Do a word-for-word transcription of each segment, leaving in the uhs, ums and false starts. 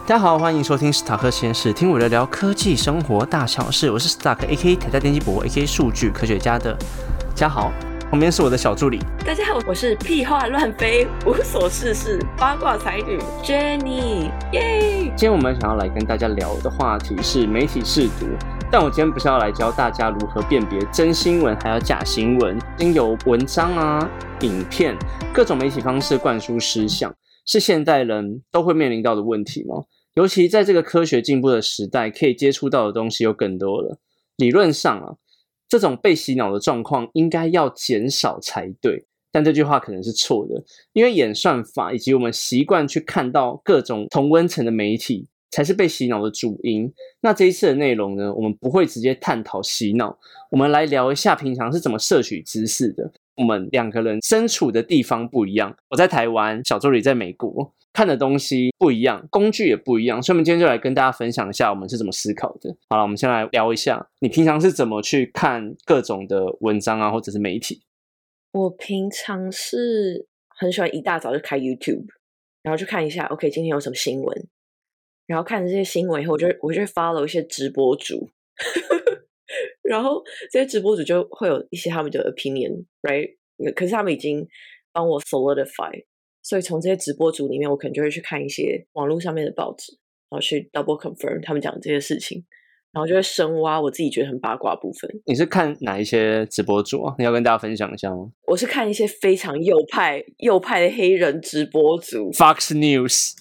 大家好，欢迎收听史塔克实验室，听我聊聊科技生活大小事。我是史塔克 A K A 台大电机博 A K A 数据科学家的嘉豪，旁边是我的小助理。 大家好，我是屁话乱飞、无所事事、八卦才女 Jenny， 耶！ 今天我们想要来跟大家聊的话题是媒体识读，但我今天不是要来教大家如何辨别真新闻还有假新闻，经由文章啊、影片各种媒体方式灌输思想，是现代人都会面临到的问题吗？尤其在这个科学进步的时代，可以接触到的东西又更多了。理论上啊，这种被洗脑的状况应该要减少才对，但这句话可能是错的，因为演算法以及我们习惯去看到各种同温层的媒体，才是被洗脑的主因。那这一次的内容呢，我们不会直接探讨洗脑，我们来聊一下平常是怎么摄取知识的。我们两个人身处的地方不一样，我在台湾，小助理在美国，看的东西不一样，工具也不一样，所以我们今天就来跟大家分享一下我们是怎么思考的。好了，我们先来聊一下，你平常是怎么去看各种的文章啊，或者是媒体？ 我平常是很喜欢一大早就开 YouTube， 然后去看一下 OK 今天有什么新闻，然后看这些新闻以后，我就我就会 follow 一些直播主然后这些直播主就会有一些他们的 opinion right， 可是他们已经帮我 solidify， 所以从这些直播主里面我可能就会去看一些网络上面的报纸，然后去 double confirm 他们讲的这些事情，然后就会深挖我自己觉得很八卦的部分。 你是看哪一些直播主啊？你要跟大家分享一下吗？ 我是看一些非常右派右派的黑人直播主 Fox News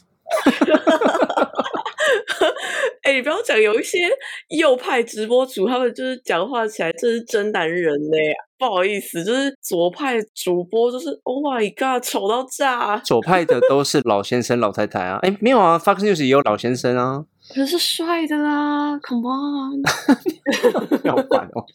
哎、欸，你不要讲，有一些右派直播主，他们就是讲话起来真是真男人呢、欸。不好意思，就是左派主播，就是 Oh my God， 丑到炸。 左派的都是老先生、老太太啊。哎，没有啊 ，Fox News 也有老先生啊。 可是帅的啦 ，Come on， 好烦哦。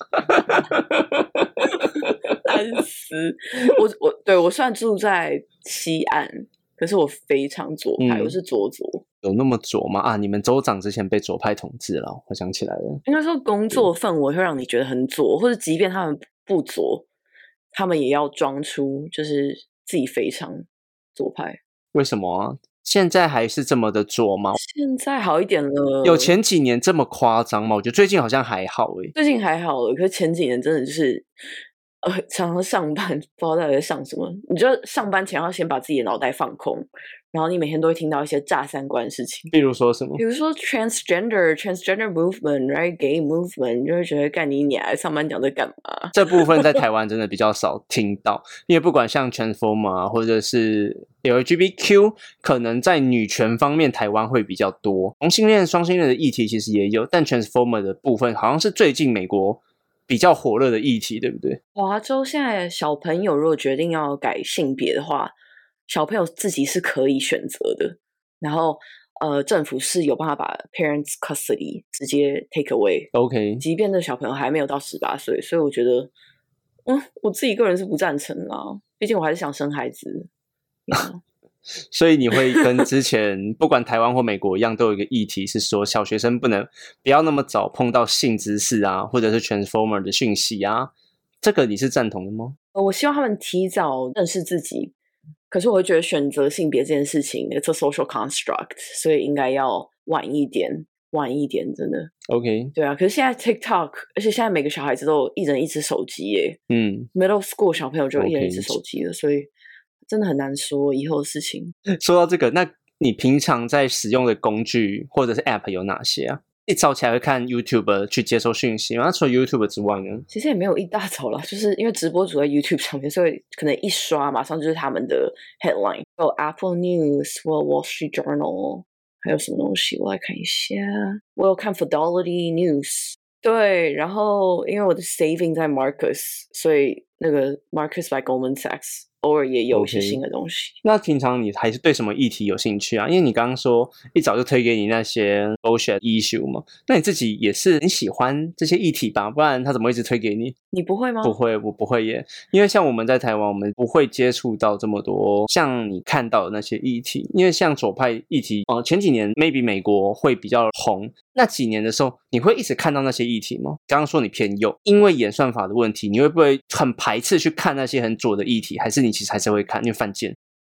难死我我对我虽然住在西岸，可是我非常左派，嗯、我是左左。 有那么左吗？啊，你们州长之前被左派统治了，我想起来了。 应该说工作氛围会让你觉得很左，或者即便他们不左，他们也要装出就是自己非常左派。 为什么啊？现在还是这么的左吗？ 现在好一点了。 有前几年这么夸张吗？我觉得最近好像还好诶。 最近还好了，可是前几年真的就是呃，常常上班不知道到底在上什么。你就上班前要先把自己的脑袋放空，然后你每天都会听到一些炸三观的事情。 比如说什么？ 比如说 transgender transgender movement right gay movement， 你就会觉得干你娘，上班讲这干嘛？ 这部分在台湾真的比较少听到，因为不管像 transformer 啊，或者是 L G B T Q， 可能在女权方面台湾会比较多。同性恋、双性恋的议题其实也有，但 transformer 的部分好像是最近美国比较火热的议题，对不对？ 华州现在小朋友如果决定要改性别的话，小朋友自己是可以选择的，然后呃，政府是有办法把 parents custody 直接 take away。OK， 即便这小朋友还没有到十八岁，所以我觉得，嗯，我自己个人是不赞成啦，毕竟我还是想生孩子。 所以你会跟之前不管台湾或美国一样，都有一个议题是说，小学生不能不要那么早碰到性知识啊，或者是 transformer 的讯息啊，这个你是赞同的吗？ 我希望他们提早认识自己，可是我会觉得选择性别这件事情 it's a social construct， 所以应该要晚一点晚一点，真的 OK。 对啊，可是现在 TikTok， 而且现在每个小孩子都有一人一只手机耶。嗯 middle school 小朋友就有一人一只手机了， okay， 所以真的很难说以后的事情。 说到这个，那你平常在使用的工具或者是 App 有哪些啊？一早起来会看 YouTube 去接收讯息吗？那除了 YouTube 之外呢？ 其实也没有一大早啦，就是因为直播主在 YouTube 上面，所以可能一刷马上就是他们的 headline， 有 Apple News 或 Wall Street Journal， 还有什么东西我来看一下，我有看 Fidelity News。对，然后因为我的 saving 在 Marcus， 所以那个 Marcus by Goldman Sachs偶尔也有一些新的东西。Okay， 那平常你还是对什么议题有兴趣啊？因为你刚刚说一早就推给你那些 bullshit issue 嘛，那你自己也是很喜欢这些议题吧？不然他怎么一直推给你？ 你不会吗？ 不会，我不会耶。因为像我们在台湾，我们不会接触到这么多像你看到的那些议题。因为像左派议题，呃，前几年 maybe 美国会比较红，那几年的时候，你会一直看到那些议题吗？刚刚说你偏右，因为演算法的问题，你会不会很排斥去看那些很左的议题？还是你其实还是会看，因为犯贱？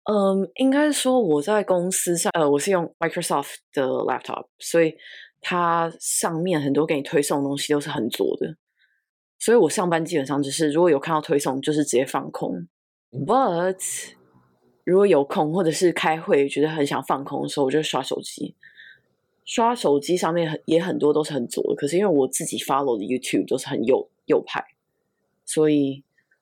嗯，应该说我在公司上，呃，我是用 Microsoft 的 laptop，所以它上面很多给你推送的东西都是很左的，所以我上班基本上就是如果有看到推送，就是直接放空。But 如果有空或者是开会觉得很想放空的时候，我就刷手机。刷手机上面很也很多都是很左的，可是因为我自己 follow 的 YouTube 都是很右右派，所以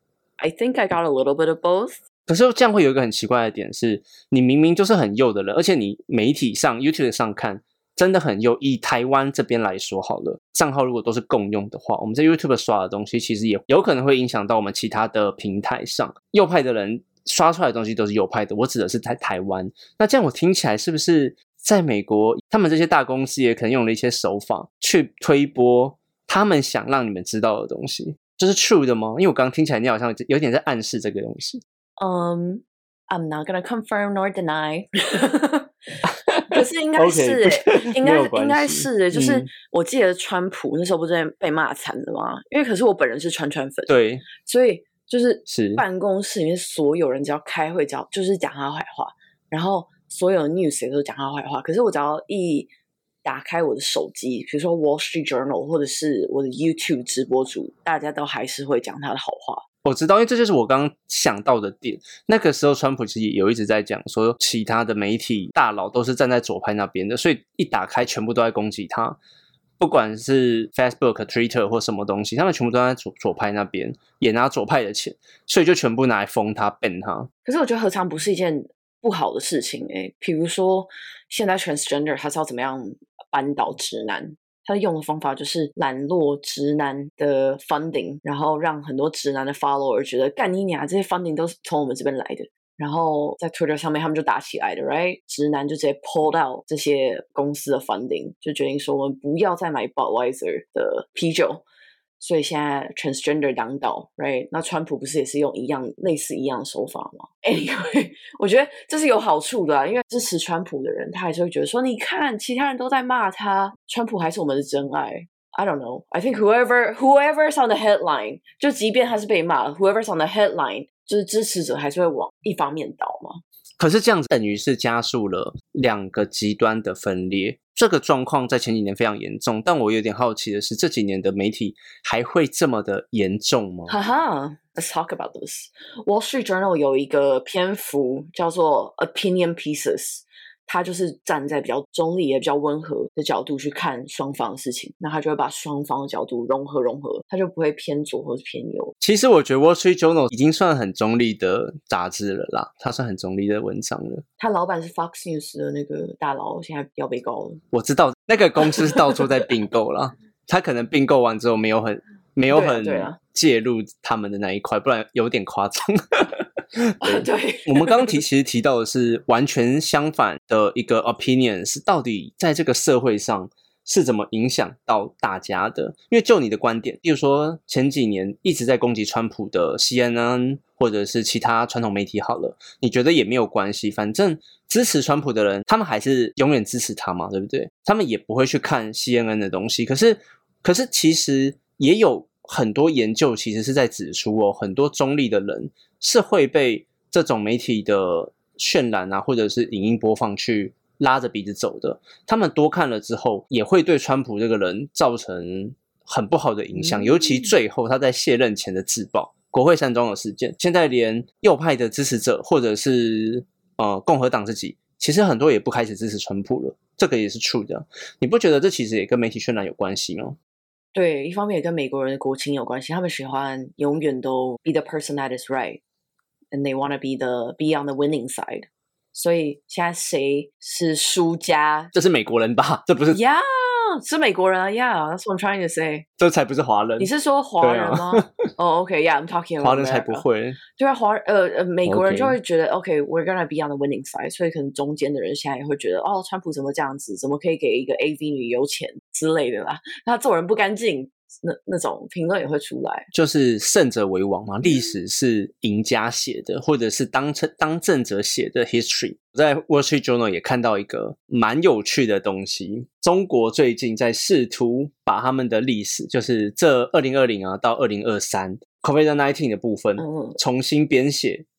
I think I got a little bit of both。 可是这样会有一个很奇怪的点是，你明明就是很右的人，而且你媒体上 YouTube 上看真的很右。以台湾这边来说好了，账号如果都是共用的话，我们在 YouTube 刷的东西其实也有可能会影响到我们其他的平台上。右派的人刷出来的东西都是右派的，我指的是在台湾。那这样我听起来是不是在美国他们这些大公司也可能用了一些手法去推播他们想让你们知道的东西？这是 true 的吗？因为我刚刚听起来你好像有点在暗示这个东西。 Um, I'm not gonna confirm nor deny 可是应该是、欸 okay, 应该应该是、欸、就是、 嗯、 我记得川普那时候不是被骂惨的吗？因为可是我本人是川川粉， 对， 所以就是是办公室里面所有人只要开会只要就是讲他坏话，然后所有的 news 也都讲他坏话，可是我只要一打开我的手机，比如说 Wall Street Journal 或者是我的 YouTube 直播主，大家都还是会讲他的好话。 我知道，因为这就是我刚刚想到的点。那个时候川普其实也有一直在讲说其他的媒体大佬都是站在左派那边的，所以一打开全部都在攻击他，不管是 Facebook、Twitter 或什么东西，他们全部都在 左, 左派那边，也拿左派的钱，所以就全部拿来封他 ban 他。 可是我觉得何尝不是一件不好的事情诶，比如说现在 transgender 他是要怎么样扳倒直男，他用的方法就是揽落直男的 funding， 然后让很多直男的 follower 觉得干你娘，这些 funding 都是从我们这边来的，然后在 Twitter 上面他们就打起来的 right， 直男就直接 pull out 这些公司的 funding， 就决定说我们不要再买 Budweiser 的啤酒，所以现在 transgender 当道 right， 那川普不是也是用一样类似一样的手法吗？ Anyway 我觉得这是有好处的、啊、因为支持川普的人他还是会觉得说你看其他人都在骂他，川普还是我们的真爱。 I don't know, I think whoever whoever's on the headline， 就即便他是被骂 whoever's on the headline， 就是支持者还是会往一方面倒嘛。 可是这样子等于是加速了两个极端的分裂，这个状况在前几年非常严重，但我有点好奇的是这几年的媒体还会这么的严重吗？ 哈哈 Let's talk about this。 Wall Street Journal 有一个篇幅叫做 Opinion Pieces， 他就是站在比较中立也比较温和的角度去看双方的事情，那他就会把双方的角度融合融合，他就不会偏左或是偏右。 其实我觉得 Wall Street Journal 已经算很中立的杂志了啦，它算很中立的文章了。 他老板是 Fox News 的那个大佬，现在要被告了。 我知道那个公司是到处在并购啦他可能并购完之后没有很没有很介入他们的那一块，不然有点夸张对, 对我们刚刚提其实提到的是完全相反的一个 opinion， 是到底在这个社会上是怎么影响到大家的。因为就你的观点，例如说前几年一直在攻击川普的 C N N 或者是其他传统媒体好了，你觉得也没有关系，反正支持川普的人他们还是永远支持他嘛，对不对？他们也不会去看 C N N 的东西。可是可是其实也有很多研究其实是在指出哦，很多中立的人是会被这种媒体的渲染啊，或者是影音播放去拉着鼻子走的。他们多看了之后，也会对川普这个人造成很不好的影响。嗯、尤其最后他在卸任前的自爆国会山庄的事件，现在连右派的支持者或者是呃共和党自己，其实很多也不开始支持川普了。这个也是 true 的。你不觉得这其实也跟媒体渲染有关系吗？ 对，一方面也跟美国人的国情有关系，他们喜欢永远都 be the person that is right and they want to be the be on the winning side， 所以现在谁是输家？ 这是美国人吧？这不是 Yeah， 是美國人啊 Yeah， that's what I'm trying to say。 这才不是華人。 你是說華人嗎？哦、啊 oh, OK Yeah I'm talking about 華人才不會。 對啊，華呃呃美國人就會覺得 OK, OK we're gonna be on the winning side， 所以可能中間的人現在也會覺得哦川普怎麼這樣子，怎麼可以給一個 A V 女優錢之類的啦，他做人不乾淨，那那種評論也會出來。就是勝者為王嘛，歷史是贏家寫的，或者是當當政者寫的 history。我在 Wall Street Journal 也看到一個蠻有趣的東西，中國最近在試圖把他們的歷史，就是這二零二零啊到二零二三 COVID 十九 的部分重新編寫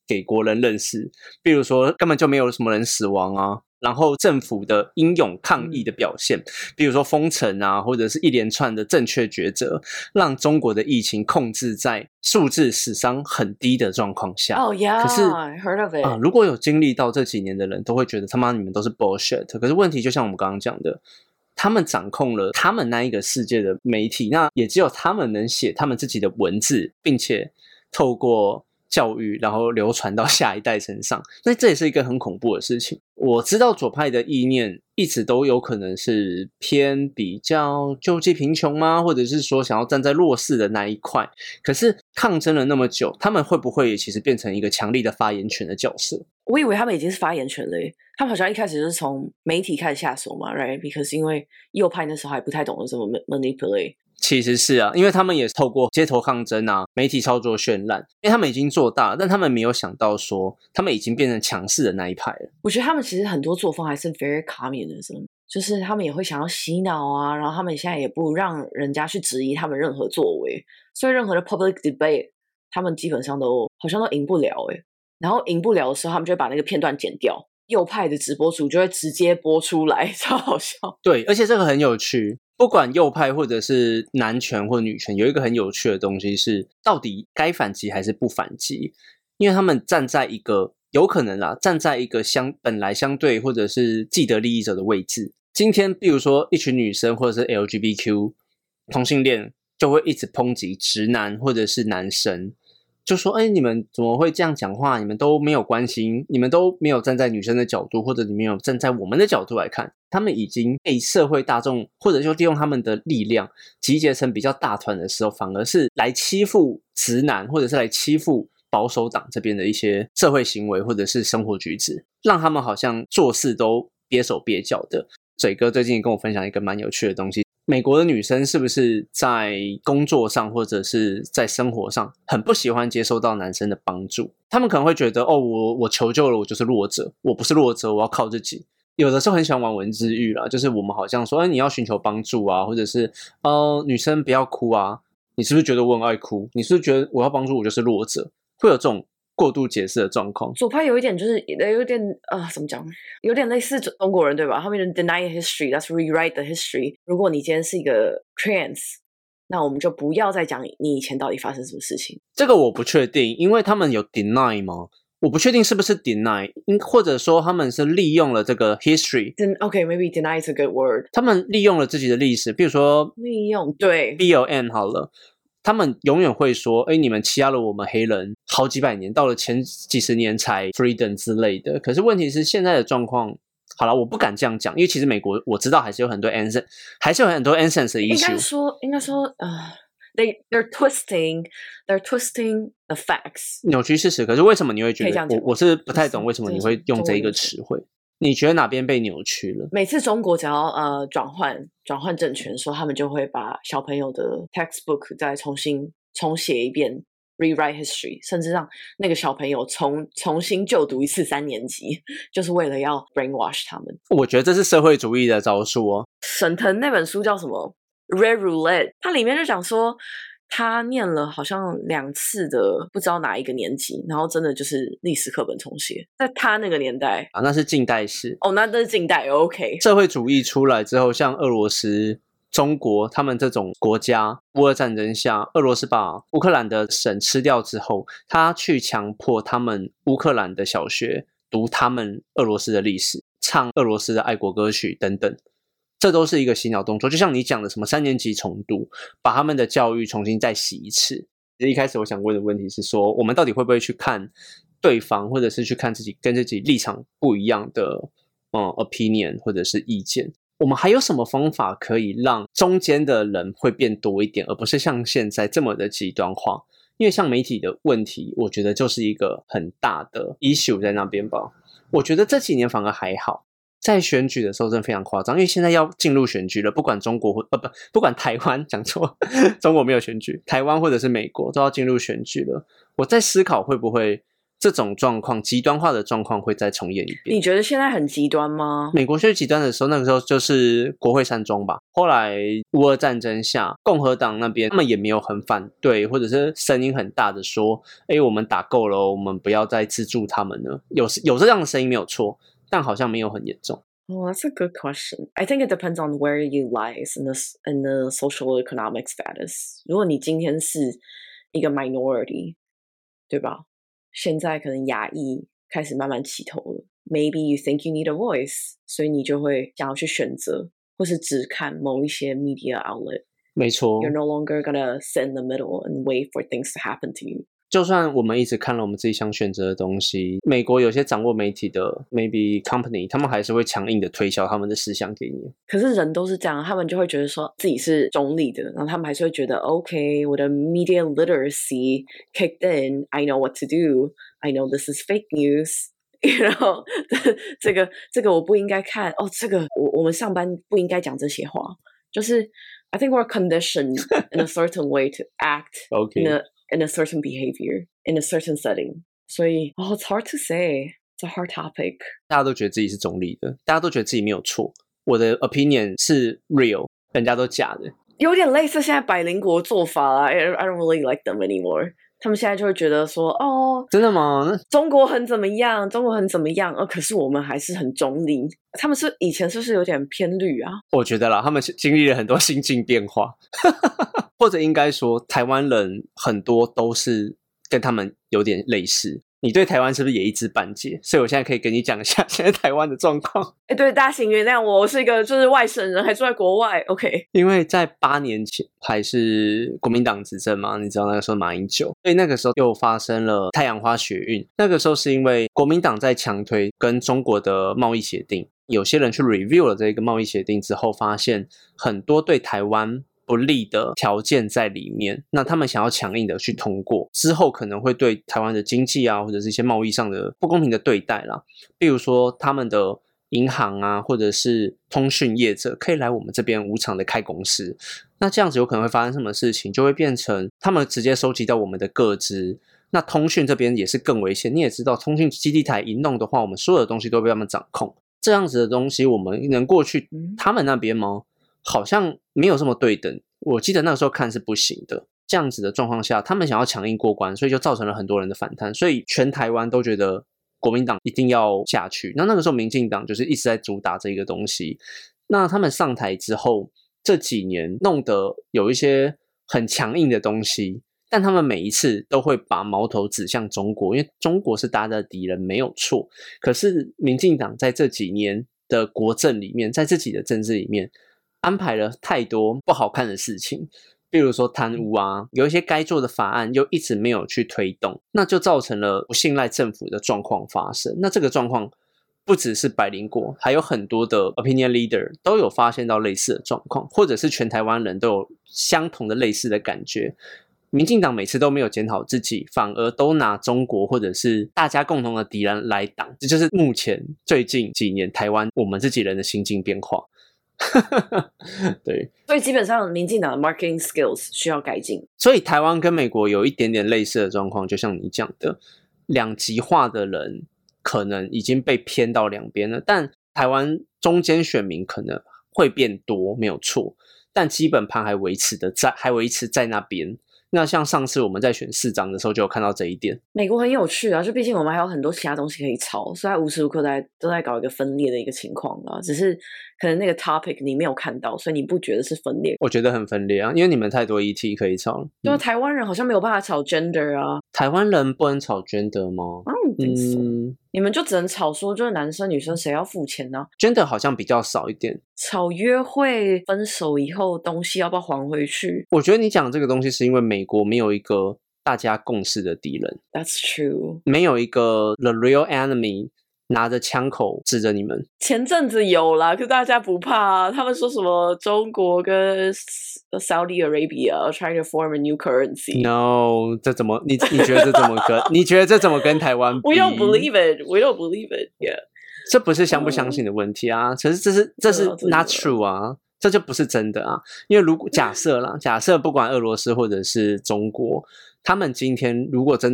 给国人认识，比如说根本就没有什么人死亡啊，然后政府的英勇抗议的表现，比如说封城啊，或者是一连串的正确抉择，让中国的疫情控制在数字死伤很低的状况下。 哦、oh, yeah, 可是 I heard of it、 呃、如果有经历到这几年的人都会觉得他妈你们都是 bullshit。可是问题就像我们刚刚讲的，他们掌控了他们那一个世界的媒体，那也只有他们能写他们自己的文字，并且透过教育然后流传到下一代身上，那这也是一个很恐怖的事情。我知道左派的意念一直都有可能是偏比较救济贫穷吗，或者是说想要站在弱势的那一块，可是抗争了那么久，他们会不会其实变成一个强力的发言权的角色？ 我以为他们已经是发言权了耶，他们好像一开始就是从媒体开始下手嘛 right？ Because 因为右派那时候还不太懂得怎么 manipulate。 其实是啊，因为他们也透过街头抗争啊，媒体操作渲染，因为他们已经做大了，但他们没有想到说他们已经变成强势的那一派了。 我觉得他们其实很多作风还是 very communism， 就是他们也会想要洗脑啊，然后他们现在也不让人家去质疑他们任何作为，所以任何的 public debate 他们基本上都好像都赢不了耶。然后赢不了的时候，他们就会把那个片段剪掉，右派的直播主就会直接播出来，超好笑。 对，而且这个很有趣，不管右派或者是男权或女权，有一个很有趣的东西是，到底该反击还是不反击？因为他们站在一个有可能啦，站在一个相本来相对或者是既得利益者的位置。今天，比如说一群女生或者是 L G B T Q 同性恋，就会一直抨击直男或者是男生。就说哎，你们怎么会这样讲话？你们都没有关心，你们都没有站在女生的角度，或者你没有站在我们的角度来看。他们已经被社会大众或者就利用他们的力量集结成比较大团的时候，反而是来欺负直男，或者是来欺负保守党这边的一些社会行为或者是生活举止，让他们好像做事都憋手憋脚的。嘴哥最近跟我分享一个蛮有趣的东西，美国的女生是不是在工作上或者是在生活上很不喜欢接受到男生的帮助？他们可能会觉得哦，我我求救了，我就是弱者，我不是弱者，我要靠自己。有的时候很喜欢玩文字狱啦，就是我们好像说哎，你要寻求帮助啊，或者是呃，女生不要哭啊，你是不是觉得我很爱哭？你是不是觉得我要帮助我就是弱者？会有这种过度解释的状况。 左派有一点就是有点呃，怎么讲，有点类似中国人对吧？他们 deny history, that's rewrite the history。 如果你今天是一个 trans， 那我们就不要再讲你以前到底发生什么事情。 这个我不确定，因为他们有 deny 吗？我不确定是不是 deny， 或者说他们是利用了这个 history。 OK, maybe deny is a good word。 他们利用了自己的历史，比如说利用，对 B L M 好了，他们永远会说哎，你们欺压了我们黑人好几百年，到了前几十年才 freedom 之类的。可是问题是现在的状况，好了，我不敢这样讲，因为其实美国我知道还是有很多 ancient 还是有很多 ancient 的 issue。 应该说应该说呃They, they're twisting, they're twisting the facts， 扭曲事实。可是为什么你会觉得，我我是不太懂为什么你会用这一个词汇？你觉得哪边被扭曲了？ 每次中国只要呃转换转换政权的时候，他们就会把小朋友的 textbook 再重新重写一遍 ，rewrite history， 甚至让那个小朋友重重新就读一次三年级，就是为了要 brainwash 他们。 我觉得这是社会主义的招数哦。 沈腾那本书叫什么？ Red Roulette， 它里面就讲说他念了好像两次的不知道哪一个年级，然后真的就是历史课本重写，在他那个年代啊，那是近代史哦，那那是近代 OK。 社会主义出来之后，像俄罗斯、中国他们这种国家，乌俄战争下，俄罗斯把乌克兰的省吃掉之后，他去强迫他们乌克兰的小学读他们俄罗斯的历史，唱俄罗斯的爱国歌曲等等，这都是一个洗脑动作。就像你讲的什么三年级重读，把他们的教育重新再洗一次。一开始我想问的问题是说，我们到底会不会去看对方，或者是去看自己跟自己立场不一样的嗯 opinion 或者是意见？我们还有什么方法可以让中间的人会变多一点，而不是像现在这么的极端化？因为像媒体的问题，我觉得就是一个很大的 issue 在那边吧。我觉得这几年反而还好，在选举的时候真的非常夸张，因为现在要进入选举了，不管中国或呃不不管台湾，讲错，中国没有选举，台湾或者是美国都要进入选举了。我在思考会不会这种状况极端化的状况会再重演一遍。 你觉得现在很极端吗？ 美国最极端的时候，那个时候就是国会山庄吧。后来乌俄战争下，共和党那边他们也没有很反对，或者是声音很大的说，诶，我们打够了，我们不要再资助他们了。有有这样的声音没有错，但好像没有很严重。 Oh, that's a good question. I think it depends on where you lies in the, in the social economic status. 如果你今天是一个 minority, 对吧？现在可能亚裔开始慢慢起头了。Maybe you think you need a voice, 所以你就会想要去选择，或是只看某一些 media outlet. 没错。 You're no longer gonna sit in the middle and wait for things to happen to you. 就算我们一直看了我们自己想选择的东西，美国有些掌握媒体的 maybe company， 他们还是会强硬的推销他们的思想给你。 可是人都是这样，他们就会觉得说自己是中立的，然后他们还是会觉得 OK， 我的 media literacy kicked in, I know what to do, I know this is fake news。然后这个这个我不应该看哦，这个我我们上班不应该讲这些话，就是 I think we're conditioned in a certain way to act okay. in a in a certain behavior in a certain setting. 所以 oh, it's hard to say. It's a hard topic. 大家都觉得自己是中立的，大家都觉得自己没有错。我的 opinion 是 real， 人家都假的。 有点类似现在百灵国做法啦 I, I don't really like them anymore。他们现在就会觉得说，哦， 真的吗？ 中国很怎么样，中国很怎么样，呃，可是我们还是很中立。他们是以前是不是有点偏绿啊？ 我觉得啦，他们经历了很多心境变化，或者应该说，台湾人很多都是跟他们有点类似。你对台湾是不是也一知半解？所以我现在可以跟你讲一下现在台湾的状况。 哎，对，大家请原谅我，我是一个就是外省人，还住在国外。OK， 因为在八年前还是国民党执政嘛，你知道那个时候马英九，所以那个时候又发生了太阳花学运。那个时候是因为国民党在强推跟中国的贸易协定，有些人去 review 了这个贸易协定之后，发现很多对台湾不利的条件在里面，那他们想要强硬的去通过，之后可能会对台湾的经济啊，或者是一些贸易上的不公平的对待啦。比如说他们的银行啊，或者是通讯业者可以来我们这边无偿的开公司，那这样子有可能会发生什么事情？就会变成他们直接收集到我们的个资。那通讯这边也是更危险，你也知道，通讯基地台一弄的话，我们所有的东西都被他们掌控。这样子的东西，我们能过去他们那边吗？好像没有这么对等，我记得那个时候看是不行的。这样子的状况下，他们想要强硬过关，所以就造成了很多人的反弹，所以全台湾都觉得国民党一定要下去。那那个时候民进党就是一直在主打这个东西。那他们上台之后，这几年弄得有一些很强硬的东西，但他们每一次都会把矛头指向中国，因为中国是大家的敌人没有错。可是民进党在这几年的国政里面，在自己的政治里面安排了太多不好看的事情，比如说贪污啊，有一些该做的法案又一直没有去推动，那就造成了不信赖政府的状况发生。那这个状况不只是百灵果，还有很多的 opinion leader 都有发现到类似的状况，或者是全台湾人都有相同的类似的感觉。民进党每次都没有检讨自己，反而都拿中国或者是大家共同的敌人来挡，这就是目前最近几年台湾我们自己人的心境变化。对， 所以基本上民进党的 marketing skills 需要改进。 所以台湾跟美国有一点点类似的状况，就像你讲的，两极化的人可能已经被偏到两边了，但台湾中间选民可能会变多，没有错，但基本盘还维持的在，还维持在那边。那像上次我们在选市长的时候就有看到这一点。 美国很有趣啊，就毕竟我们还有很多其他东西可以炒，所以它无时无刻在都在搞一个分裂的一个情况啊。只是可能那个 topic 你没有看到，所以你不觉得是分裂。 我觉得很分裂啊，因为你们太多 E T 可以炒了。 对啊、 嗯， 台湾人好像没有办法炒 gender 啊。 台湾人不能炒 gender 吗？ 嗯，你们就只能吵说就是男生女生谁要付钱呢、啊、 ？Gender 好像比较少一点。 吵约会分手以后东西要不要还回去？ 我觉得你讲这个东西是因为美国没有一个大家共识的敌人。 That's true， 没有一个 the real enemy 拿着枪口指着你们。 前阵子有啦，可是大家不怕啊。他们说什么中国跟 Saudi Arabia trying to form a new currency。 No， 这怎么你你觉得这怎么跟你觉得这怎么跟台湾比？ We don't believe it. We don't believe it. Yeah， 这不是相不相信的问题啊，可是这是这是 not true 啊，这就不是真的啊。因为如果假设啦，假设不管俄罗斯或者是中国，他们今天如果真的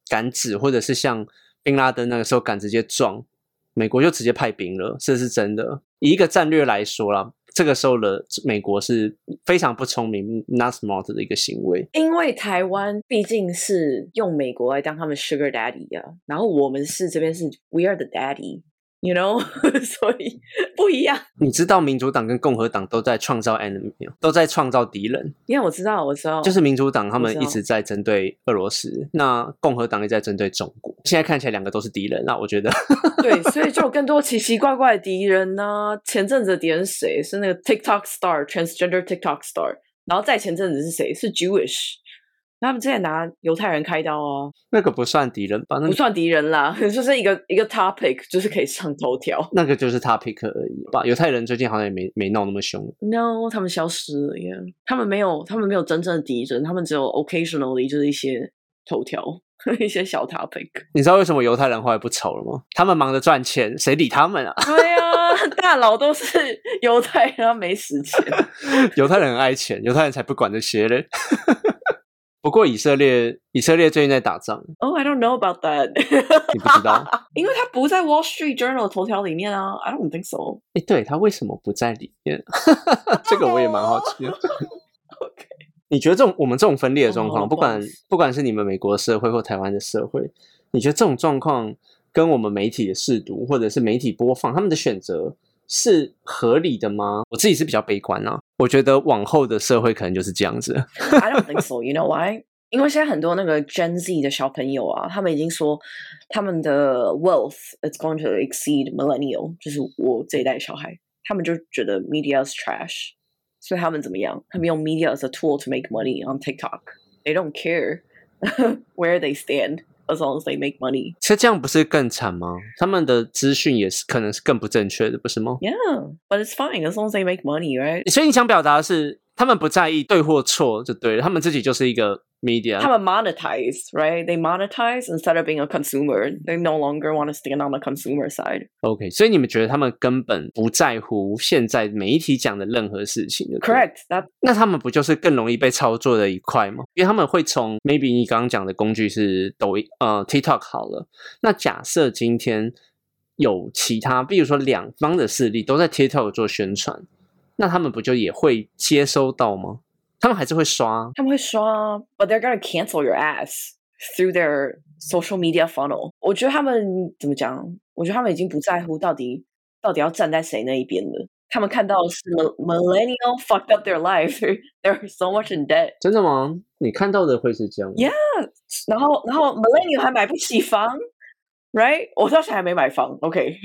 敢指，或者是像宾拉登那个时候敢直接撞，美国就直接派兵了，这是真的。以一个战略来说啦，这个时候的美国是非常不聪明 not smart 的一个行为。 因为台湾毕竟是用美国来当他们 sugar daddy 啊，然后我们是这边是 we are the daddy you know 所以不一样。 你知道民主党跟共和党都在创造 enemy， 都在创造敌人。 因为我知道我知道就是民主党他们一直在针对俄罗斯，那共和党也在针对中国，现在看起来两个都是敌人，那我觉得对，所以就有更多奇奇怪怪的敌人呢、啊。前阵子的敌人是谁？是那个 TikTok star transgender TikTok star， 然后再前阵子是谁？是 Jewish，他们之前拿犹太人开刀啊， 那个不算敌人吧？那个不算敌人啦，就是一个一个 topic， 就是可以上头条。 那个就是 topic 而已吧。犹太人最近好像也没没闹那么凶。 No， 他们消失了耶，他们没有，他们没有真正的敌人，他们只有 occasionally 就是一些头条，一些小 topic。 你知道为什么犹太人后来不吵了吗？他们忙着赚钱，谁理他们啊？ 对啊，大佬都是犹太人，他没时间。 犹太人很爱钱，犹太人才不管这些嘞。不过以色列，以色列最近在打仗。 Oh, I don't know about that 。 你不知道？ 因为他不在 Wall Street Journal 头条里面啊。I don't think so。 哎，对，他为什么不在里面？这个我也蛮好奇的。 OK。 你觉得这种我们这种分裂的状况， oh, 不管不管是你们美国社会或台湾的社会，你觉得这种状况跟我们媒体的识读或者是媒体播放他们的选择是合理的吗？我自己是比较悲观啊，我觉得往后的社会可能就是这样子。 I don't think so. You know why? 因为现在很多那个 Gen Z 的小朋友啊，他们已经说他们的 wealth is going to exceed millennial， 就是我这一代小孩，他们就觉得 media is trash， 所以他们怎么样？他们用 media as a tool to make money on TikTok. They don't care where they stand.As long as they make money， 其实这样不是更惨吗？他们的资讯也是可能是更不正确的，不是吗？ Yeah, but it's fine as long as they make money, right? 所以你想表达的是，他们不在意对或错就对了，他们自己就是一个 media。 他们 monetize, right? They monetize instead of being a consumer. They no longer want to stand on the consumer side. OK， 所以你们觉得他们根本不在乎现在媒体讲的任何事情就对了 ？Correct. That 那他们不就是更容易被操作的一块吗？因为他们会从 maybe 你刚刚讲的工具是抖音呃 TikTok 好了，那假设今天有其他比如说两方的势力都在 TikTok 做宣传，那他们不就也会接收到吗？他们还是会刷， 他们会刷 but they're gonna cancel your ass through their social media funnel. 我觉得他们怎么讲？我觉得他们已经不在乎到底到底要站在谁那一边了。他们看到的是 millennial fucked up their life. They're so much in debt. 真的吗？你看到的会是这样 ？Yeah， 然后然后 millennial 还买不起房 ，right？ 我到现在还没买房 ，OK？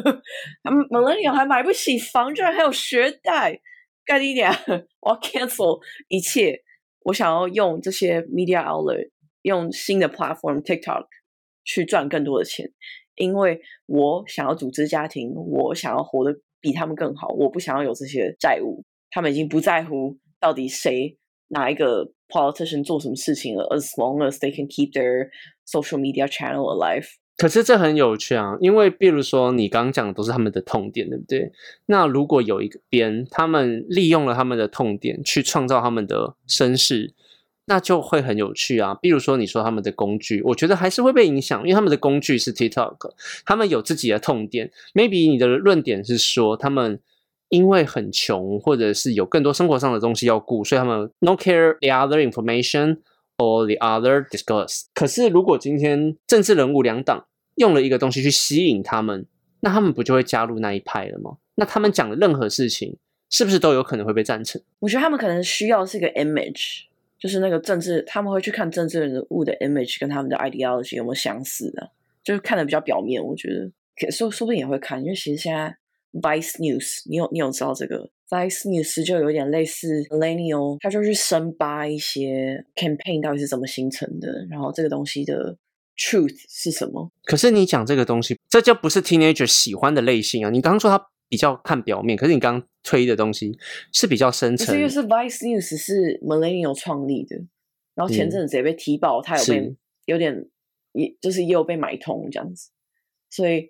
millennial 还买不起房，居然还有学贷，干你娘！我要 cancel 一切，我想要用这些 media outlet， 用新的 platform TikTok 去赚更多的钱，因为我想要组织家庭，我想要活得比他们更好，我不想要有这些债务。他们已经不在乎到底谁哪一个 politician 做什么事情了 ，as long as they can keep their social media channel alive。 可是这很有趣啊，因为比如说你刚刚讲的都是他们的痛点，对不对？那如果有一个边他们利用了他们的痛点去创造他们的声势，那就会很有趣啊。比如说你说他们的工具，我觉得还是会被影响，因为他们的工具是 TikTok， 他们有自己的痛点。Maybe 你的论点是说他们因为很穷，或者是有更多生活上的东西要顾，所以他们 no care the other information or the other discourse。 可是如果今天政治人物两党用了一个东西去吸引他们，那他们不就会加入那一派了吗？那他们讲的任何事情是不是都有可能会被赞成？ 我觉得他们可能需要是一个 image， 就是那个政治，他们会去看政治人物的 image 跟他们的 ideology 有没有相似的，就是看的比较表面。我觉得说说不定也会看，因为其实现在 Vice News， 你有你有知道这个 Vice News 就有点类似 Millennial， 他就去深扒一些 campaign 到底是怎么形成的，然后这个东西的 truth 是什么。 可是你讲这个东西，这就不是 teenager 喜欢的类型啊。你刚刚说他比较看表面，可是你刚刚推的东西是比较深层。 不是，因为是 Vice News 是 Millennial 创立的，然后前阵子也被踢爆，他有被有点也就是也有被买通这样子，所以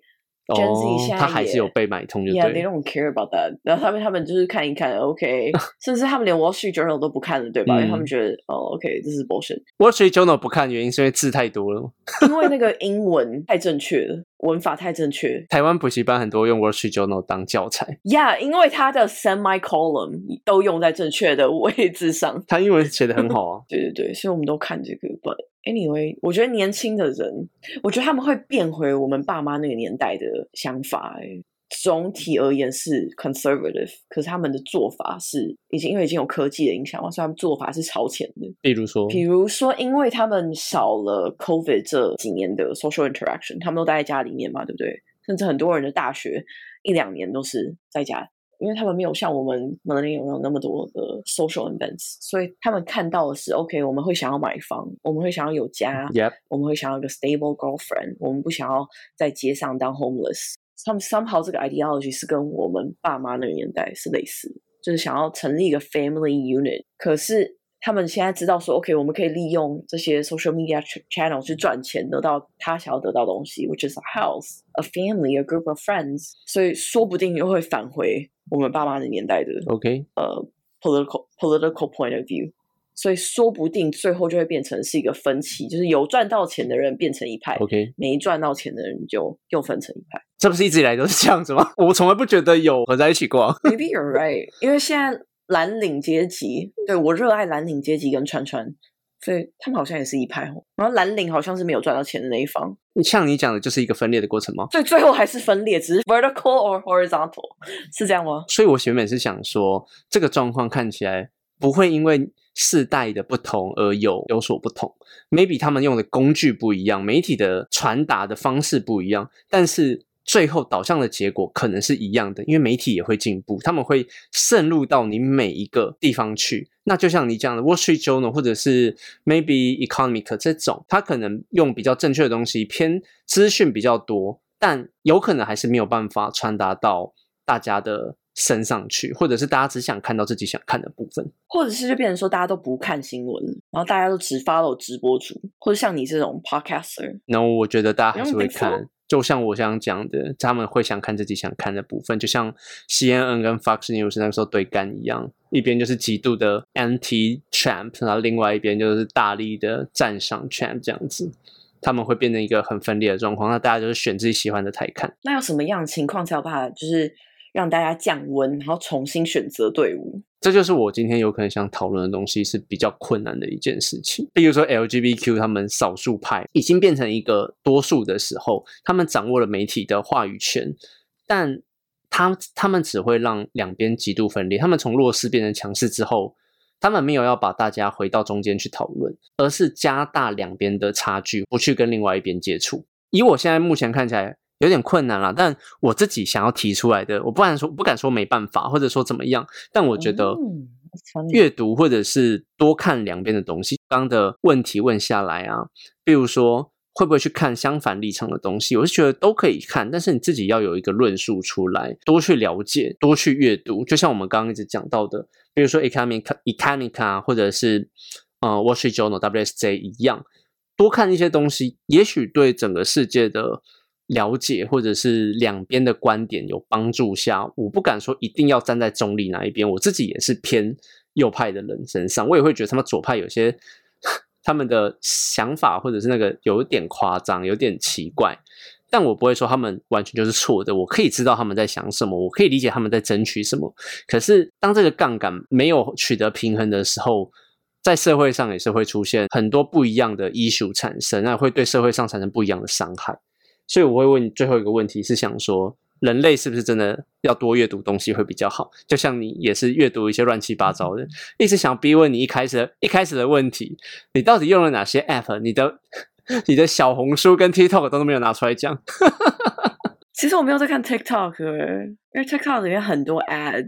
Gen Z 哦， 现在他还是也有被买通就对 Yeah, they don't care about that. 然后他们他们就是看一看 ，OK， 甚至他们连 Wall Street Journal 都不看了，对吧？ 嗯因为他们觉得哦 ，OK， 这是 bullshit。 Wall Street Journal 不看原因是因为字太多了， 因为那个英文太正确了，文法太正确。 台湾补习班很多用 Wall Street Journal 当教材。 Yeah， 因为它的 semicolon 都用在正确的位置上。 他英文写得很好啊。 对对对，所以我们都看这个。But anyway， 我觉得年轻的人，我觉得他们会变回我们爸妈那个年代的想法、欸。总体而言是 conservative， 可是他们的做法是已经因为已经有科技的影响嘛，所以他们做法是超前的。 比如说， 比如说，因为他们少了 COVID 这几年的 social interaction， 他们都待在家里面嘛，对不对？甚至很多人的大学一两年都是在家，因为他们没有像我们 millennial 有那么多的 social events， 所以他们看到的是 OK， 我们会想要买房，我们会想要有家， Yep. 我们会想要一个 stable girlfriend， 我们不想要在街上当 homeless。他们 somehow 这个 ideology 是跟我们爸妈那个年代是类似的，就是想要成立一个 family unit。可是他们现在知道说 OK， 我们可以利用这些 social media channel 去赚钱，得到他想要得到的东西 which is a house, a family, a group of friends， 所以说不定又会返回我们爸妈的年代的 OK 呃 political political point of view。所以说不定最后就会变成是一个分歧，就是有赚到钱的人变成一派 OK， 没赚到钱的人就又分成一派。 这不是一直以来都是这样子吗？我从来不觉得有合在一起过。 Maybe you're right， 因为现在蓝领阶级，对，我热爱蓝领阶级跟川川，所以他们好像也是一派哦。然后蓝领好像是没有赚到钱的那一方， 像你讲的就是一个分裂的过程吗？ 所以最后还是分裂，只是 vertical or horizontal， 是这样吗？ 所以我原本是想说，这个状况看起来不会因为世代的不同而有有所不同 ，maybe 他们用的工具不一样，媒体的传达的方式不一样，但是最后导向的结果可能是一样的，因为媒体也会进步，他们会渗入到你每一个地方去。那就像你讲的 Wall Street Journal 或者是 maybe Economic 这种，他可能用比较正确的东西，偏资讯比较多，但有可能还是没有办法传达到大家的升上去，或者是大家只想看到自己想看的部分， 或者是就变成说大家都不看新闻，然后大家都只 follow 直播主，或者像你这种 podcaster。 然后我觉得大家还是会 You don't think so? 看，就像我想讲的，他们会想看自己想看的部分，就像 C N N 跟 Fox News 那个时候对干一样，一边就是极度的 anti-Trump， 然后另外一边就是大力的赞赏 Trump 这样子。他们会变成一个很分裂的状况，那大家就是选自己喜欢的台看。 那有什么样的情况才有办法就是让大家降温，然后重新选择队伍？ 这就是我今天有可能想讨论的东西，是比较困难的一件事情。比如说 L G B T Q 他们少数派已经变成一个多数的时候，他们掌握了媒体的话语权，但他他们只会让两边极度分裂。他们从弱势变成强势之后，他们没有要把大家回到中间去讨论，而是加大两边的差距，不去跟另外一边接触。以我现在目前看起来有点困难啦，但我自己想要提出来的，我不敢说不敢说没办法，或者说怎么样，但我觉得阅读或者是多看两边的东西。刚刚的问题问下来啊，比如说会不会去看相反立场的东西，我是觉得都可以看，但是你自己要有一个论述出来，多去了解，多去阅读。就像我们刚刚一直讲到的，比如说 Economic Economic 啊，或者是呃 Wall Street Journal W S J 一样，多看一些东西，也许对整个世界的了解或者是两边的观点有帮助下，我不敢说一定要站在中立哪一边，我自己也是偏右派的人身上，我也会觉得他们左派有些他们的想法或者是那个有点夸张，有点奇怪，但我不会说他们完全就是错的，我可以知道他们在想什么，我可以理解他们在争取什么。可是当这个杠杆没有取得平衡的时候，在社会上也是会出现很多不一样的 issue 产生，那会对社会上产生不一样的伤害。所以我会问你最后一个问题，是想说人类是不是真的要多阅读东西会比较好？就像你也是阅读一些乱七八糟的，一直想逼问你一开始的一开始的问题，你到底用了哪些 app？ 你的你的小红书跟 TikTok 都没有拿出来讲。 其实我没有在看 TikTok， 因为 TikTok 里面很多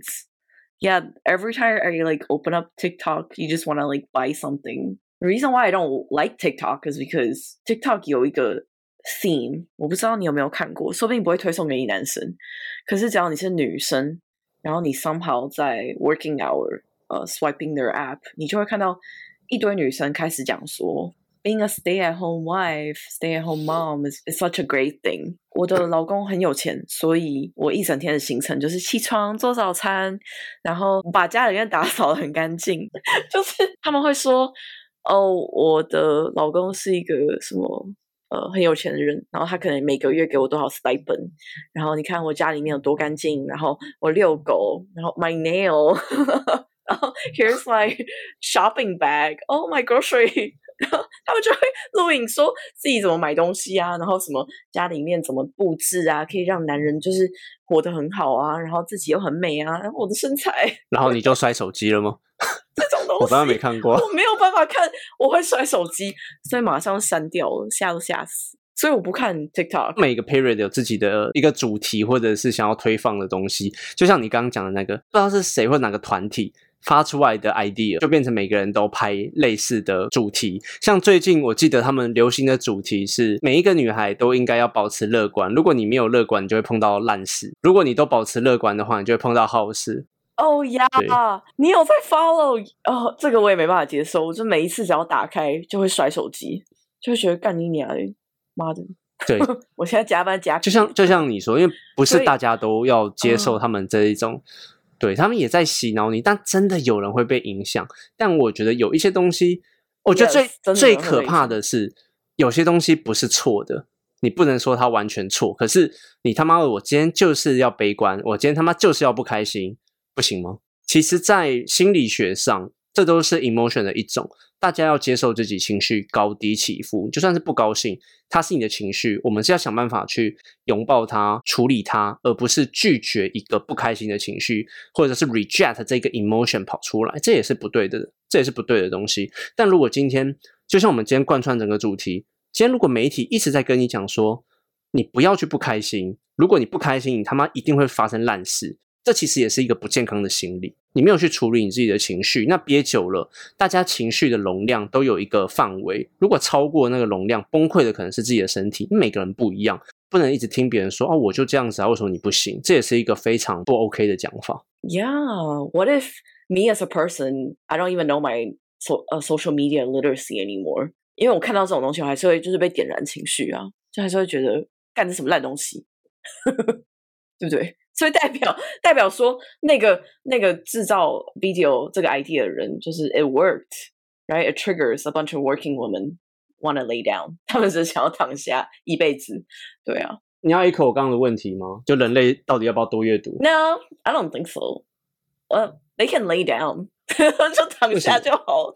ads。Yeah, every time I like open up TikTok, you just want to like buy something. The reason why I don't like TikTok is because TikTok 有一个theme， 我不知道你有没有看过，说不定不会推送给你男生，可是只要你是女生，然后你 somehow 在 working hour 呃、uh, swiping their app， 你就会看到一堆女生开始讲说 being a stay-at-home wife, stay-at-home mom is, is such a great thing. 我的老公很有钱，所以我一整天的行程就是起床做早餐，然后把家里面打扫得很干净。就是他们会说，哦，我的老公是一个什么呃很有钱的人，然后他可能每个月给我多少 stipend， 然后你看我家里面有多干净，然后我遛狗，然后 my nail 然后 here's my shopping bag, oh my grocery 然后他们就会录影说自己怎么买东西啊，然后什么家里面怎么布置啊，可以让男人就是活得很好啊，然后自己又很美啊，然后我的身材然后你就摔手机了吗？ 这种东西我刚刚没看过， 我没有办法看，我会摔手机，所以马上删掉了，吓都吓死。所以我不看 TikTok。 每个 period 有自己的一个主题或者是想要推放的东西，就像你刚刚讲的那个，不知道是谁或哪个团体发出来的 idea， 就变成每个人都拍类似的主题。像最近我记得他们流行的主题是每一个女孩都应该要保持乐观，如果你没有乐观你就会碰到烂事，如果你都保持乐观的话你就会碰到好事。 哦呀，你有在 follow 哦？这个我也没办法接受，我就每一次只要打开就会摔手机，就会觉得干你娘的妈的。 对我现在加班加就像就像你说，因为不是大家都要接受他们这一种、嗯、对，他们也在洗脑你，但真的有人会被影响。但我觉得有一些东西，我觉得最、yes, 最可怕的是有些东西不是错的，你不能说它完全错，可是你他妈的我今天就是要悲观，我今天他妈就是要不开心，不行吗？其实在心理学上这都是 emotion 的一种，大家要接受自己情绪高低起伏，就算是不高兴它是你的情绪，我们是要想办法去拥抱它处理它，而不是拒绝一个不开心的情绪，或者是 reject 这个 emotion 跑出来，这也是不对的，这也是不对的东西。但如果今天就像我们今天贯穿整个主题，今天如果媒体一直在跟你讲说你不要去不开心，如果你不开心你他妈一定会发生烂事，这其实也是一个不健康的心理。你没有去处理你自己的情绪，那憋久了大家情绪的容量都有一个范围，如果超过那个容量，崩溃的可能是自己的身体。每个人不一样，不能一直听别人说哦我就这样子啊，为什么你不行，这也是一个非常不 OK 的讲法。 Yeah, what if me as a person I don't even know my so, uh, social media literacy anymore， 因为我看到这种东西我还是会就是被点燃情绪啊，就还是会觉得干这什么烂东西对不对？所以代表代表说那个那个制造 video 这个 idea 的人就是 it worked, right? It triggers a bunch of working women want to lay down， 他们只想要躺下一辈子。对啊， 你要echo我刚刚的问题吗？就人类到底要不要多阅读？ No, I don't think so. Well, they can lay down 就躺下就好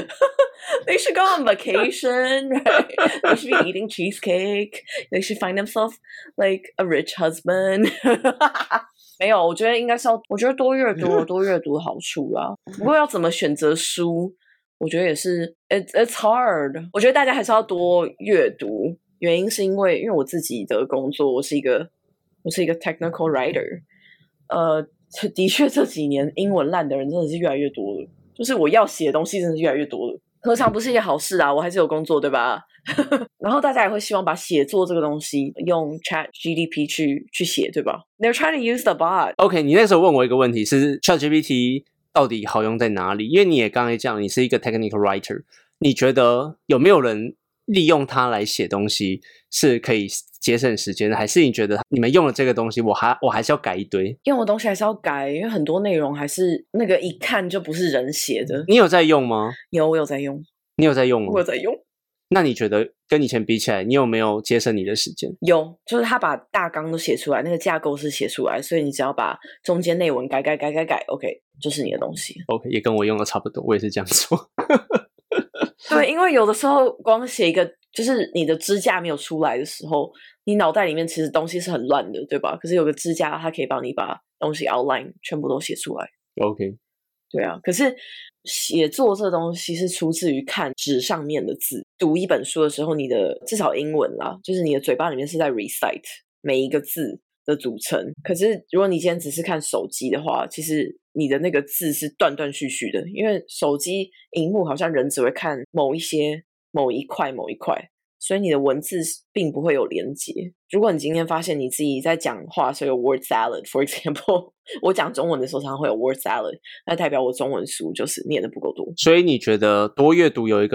They should go on vacation, right? They should be eating cheesecake. They should find themselves like a rich husband. 没有，我觉得应该是要，我觉得多阅读有多阅读的好处啊。不过要怎么选择书，我觉得也是 it's, it's hard。我觉得大家还是要多阅读，原因是因为因为我自己的工作，我是一个我是一个 technical writer。呃，的确这几年英文烂的人真的是越来越多了。就是我要写的东西真的是越来越多了，何尝不是一件好事啊，我还是有工作对吧然后大家也会希望把写作这个东西用 Chat G P T 去去写对吧， They're trying to use the bot。 OK， 你那时候问我一个问题是 Chat G P T 到底好用在哪里，因为你也刚才讲你是一个 technical writer， 你觉得有没有人利用它来写东西是可以节省时间的，还是你觉得你们用了这个东西我还我还是要改一堆？ 用的东西还是要改，因为很多内容还是那个一看就不是人写的。 你有在用吗？ 有，我有在用。 你有在用吗？ 我有在用。 那你觉得跟以前比起来你有没有节省你的时间？ 有，就是他把大纲都写出来，那个架构是写出来，所以你只要把中间内文改改改改改 OK 就是你的东西。 OK， 也跟我用的差不多，我也是这样做对，因为有的时候光写一个就是你的支架没有出来的时候，你脑袋里面其实东西是很乱的对吧，可是有个支架它可以帮你把东西 outline 全部都写出来。 OK， 对啊，可是写作这东西是出自于看纸上面的字，读一本书的时候你的至少英文啦，就是你的嘴巴里面是在 recite 每一个字的组成，可是如果你今天只是看手机的话，其实你的那个字是断断续续的，因为手机荧幕好像人只会看某一些某一块某一块，所以你的文字并不会有连结。如果你今天发现你自己在讲话所以有 word salad for example 我讲中文的时候常常会有 word salad， 那代表我中文书就是念的不够多。 所以你觉得多阅读有一个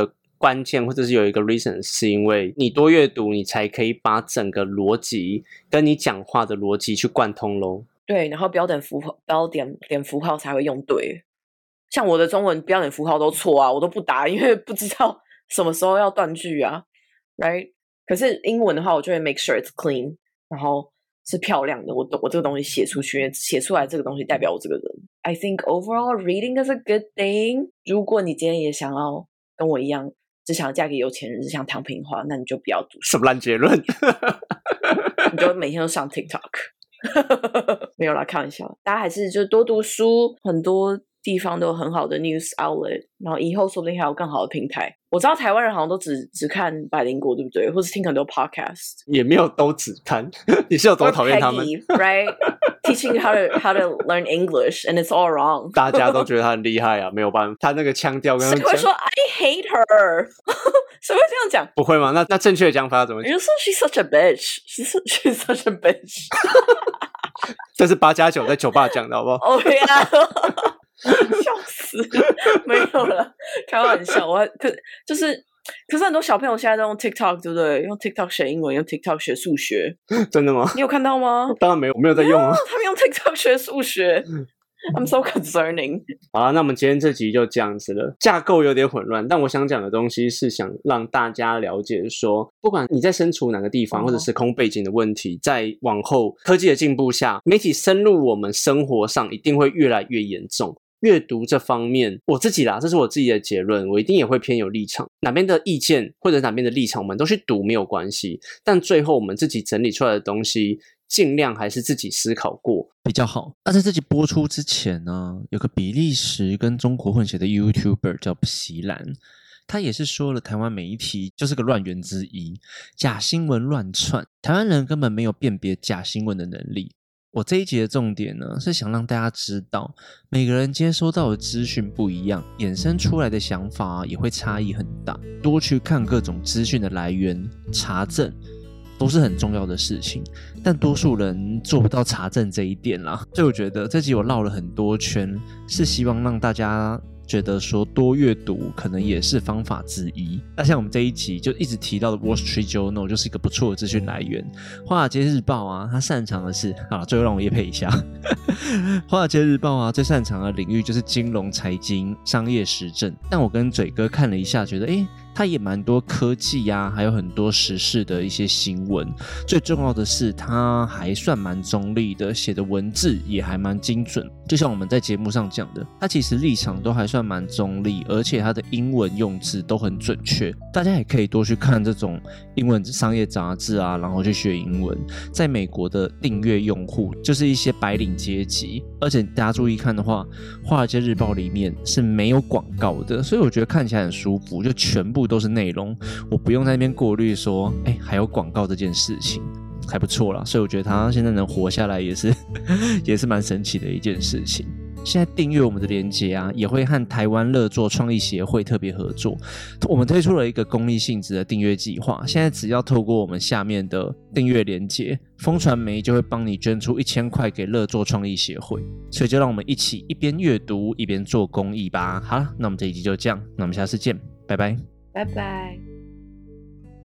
关键或者是有一个 reason 是因为你多阅读你才可以把整个逻辑跟你讲话的逻辑去贯通咯。 对，然后标点符号标点点符号才会用对。像我的中文标点符号都错啊，我都不打，因为不知道什么时候要断句啊 right。 可是英文的话我就会 make sure it's clean， 然后是漂亮的，我我这个东西写出去，写出来这个东西代表我这个人。 I think overall reading is a good thing。 如果你今天也想要跟我一样只想嫁给有钱人，只想躺平的话，那你就不要读书。 什么烂结论你就每天都上 TikTok 没有啦，开玩笑，大家还是就多读书，很多地方都有很好的 news outlet， 然后以后说不定还有更好的平台。我知道台湾人好像都只只看百灵果，对不对？或是听很多 podcast。 也没有都只看你是有多讨厌他们 Peggy, right? Teaching how to, how to learn English and it's all wrong 大家都觉得他很厉害啊，没有办法，他那个腔调跟他谁会说 I hate her 谁会这样讲？ 不会吗？那那正确的讲法要怎么讲？ 你就说 she's such a bitch she's, she's such a bitch 这是八加九在酒吧讲的好不好？ 哦呀笑死没有了，开玩笑。我可就是可是很多小朋友现在都用 TikTok 对不对？用 TikTok 学英文，用 TikTok 学数学。 真的吗？ 你有看到吗？ 当然没有，我没有在用啊。 他们用 TikTok 学数学I'm so concerning。 好啦，那我们今天这集就这样子了，架构有点混乱，但我想讲的东西是想让大家了解说，不管你在身处哪个地方、哦、或者时空背景的问题，在往后科技的进步下，媒体深入我们生活上一定会越来越严重。阅读这方面我自己啦，这是我自己的结论，我一定也会偏有立场，哪边的意见或者哪边的立场我们都去读没有关系，但最后我们自己整理出来的东西尽量还是自己思考过比较好。那在这集播出之前呢，有个比利时跟中国混血的 YouTuber 叫席兰，他也是说了台湾媒体就是个乱源之一，假新闻乱窜，台湾人根本没有辨别假新闻的能力。我这一集的重点呢，是想让大家知道每个人接收到的资讯不一样，衍生出来的想法、啊、也会差异很大，多去看各种资讯的来源，查证都是很重要的事情，但多数人做不到查证这一点啦。所以我觉得这集我绕了很多圈，是希望让大家觉得说多阅读可能也是方法之一。那像我们这一集就一直提到的 Wall Street Journal 就是一个不错的资讯来源。华尔街日报啊，它擅长的是，好，最后让我业配一下华尔街日报啊，最擅长的领域就是金融、财经、商业时政。但我跟嘴哥看了一下，觉得诶它也蛮多科技啊，还有很多时事的一些新闻。最重要的是它还算蛮中立的，写的文字也还蛮精准。就像我们在节目上讲的，它其实立场都还算蛮中立，而且它的英文用字都很准确。大家也可以多去看这种英文商业杂志啊，然后去学英文。在美国的订阅用户就是一些白领阶级，而且大家注意看的话，华尔街日报里面是没有广告的，所以我觉得看起来很舒服，就全部都是内容，我不用在那边过滤说哎，还有广告这件事情，还不错啦。所以我觉得他现在能活下来也是也是蛮神奇的一件事情。现在订阅我们的连结啊，也会和台湾乐作创意协会特别合作，我们推出了一个公益性质的订阅计划。现在只要透过我们下面的订阅连结，风传媒就会帮你捐出一千块给乐作创意协会。所以就让我们一起一边阅读一边做公益吧。好了，那我们这一集就这样，那我们下次见，拜拜， 拜拜。